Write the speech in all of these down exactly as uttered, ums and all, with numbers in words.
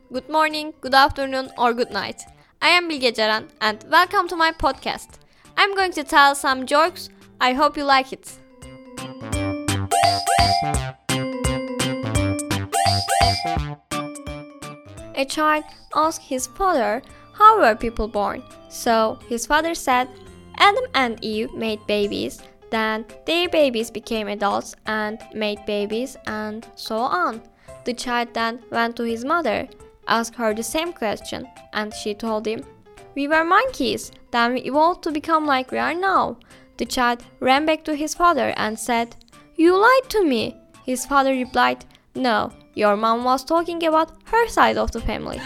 good morning, good afternoon, or good night. I am Bilge Ceren and welcome to my podcast. I'm going to tell some jokes. I hope you like it. A child asked his father, how were people born? So his father said, Adam and Eve made babies, then their babies became adults and made babies, and so on. The child then went to his mother, asked her the same question, and she told him, we were monkeys, then we evolved to become like we are now. The child ran back to his father and said, you lied to me. His father replied, no, your mom was talking about her side of the family.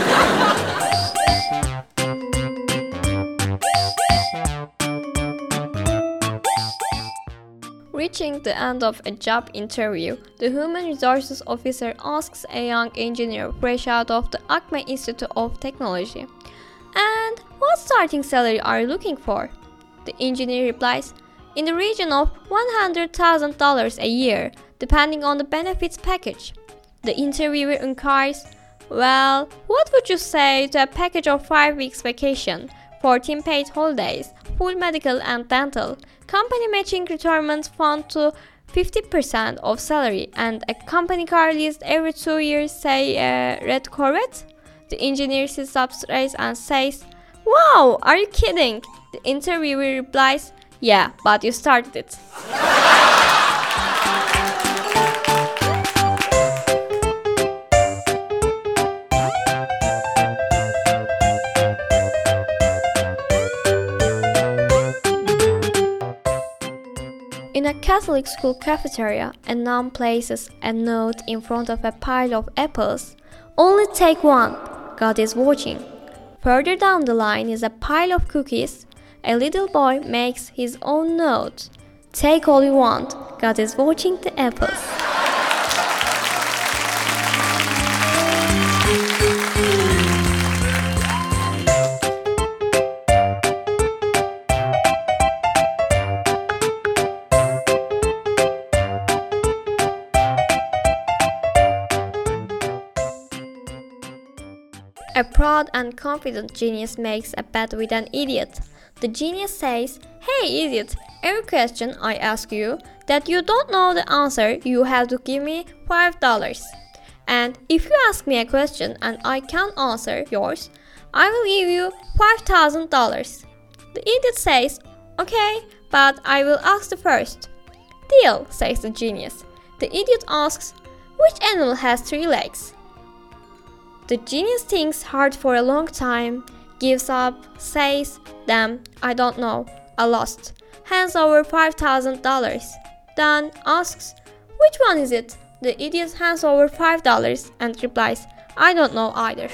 Reaching the end of a job interview, the human resources officer asks a young engineer fresh out of the Acme Institute of Technology, and what starting salary are you looking for? The engineer replies, in the region of one hundred thousand dollars a year, depending on the benefits package. The interviewer inquires, well, what would you say to a package of five weeks vacation, fourteen paid holidays, full medical and dental, company matching retirement fund to fifty percent of salary, and a company car leased every two years, say a red Corvette? The engineer sits up straight and says, wow, are you kidding? The interviewer replies, yeah, but you started it. In a Catholic school cafeteria, a nun places a note in front of a pile of apples. Only take one. God is watching. Further down the line is a pile of cookies. A little boy makes his own note. Take all you want. God is watching the apples. A proud and confident genius makes a bet with an idiot. The genius says, hey idiot, every question I ask you that you don't know the answer, you have to give me five dollars. And if you ask me a question and I can't answer yours, I will give you five thousand dollars. The idiot says, okay, but I will ask the first. Deal, says the genius. The idiot asks, which animal has three legs? The genius thinks hard for a long time, gives up, says, damn, I don't know, I lost, hands over five thousand dollars. Then asks, which one is it? The idiot hands over five dollars and replies, I don't know either.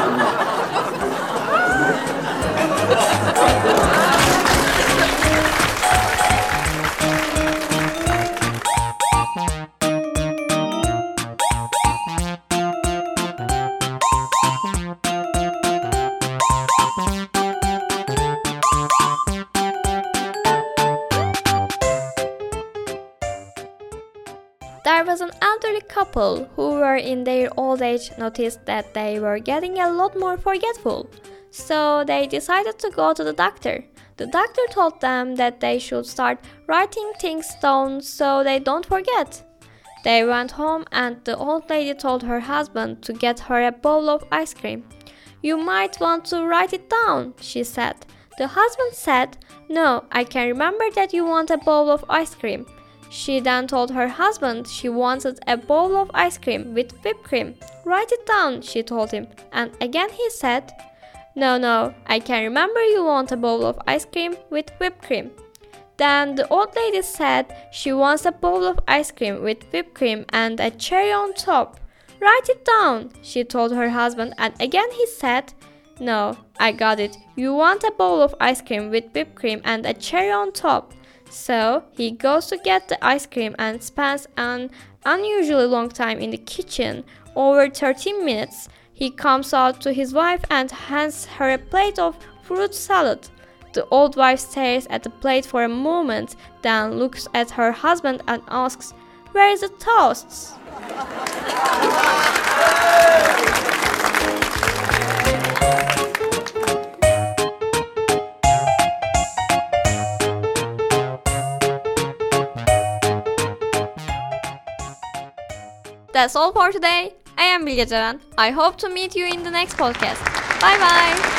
There was an elderly couple who were in their old age noticed that they were getting a lot more forgetful. So they decided to go to the doctor. The doctor told them that they should start writing things down so they don't forget. They went home and the old lady told her husband to get her a bowl of ice cream. You might want to write it down, she said. The husband said, no, I can remember that you want a bowl of ice cream. She then told her husband she wanted a bowl of ice cream with whipped cream. Write it down, she told him. And again he said, no, no, I can remember you want a bowl of ice cream with whipped cream. Then the old lady said she wants a bowl of ice cream with whipped cream and a cherry on top. Write it down, she told her husband, and again he said, no, I got it. You want a bowl of ice cream with whipped cream and a cherry on top. So he goes to get the ice cream and spends an unusually long time in the kitchen, over thirteen minutes. He comes out to his wife and hands her a plate of fruit salad. The old wife stares at the plate for a moment, then looks at her husband and asks, "Where is the toasts?" That's all for today. I am Bilge Ceren. I hope to meet you in the next podcast. Bye bye.